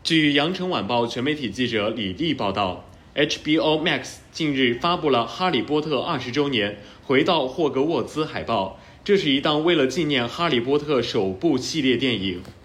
据羊城晚报全媒体记者李丽报道， HBO Max 近日发布了《哈利波特20周年回到霍格沃兹》海报，这是一档为了纪念哈利波特首部系列电影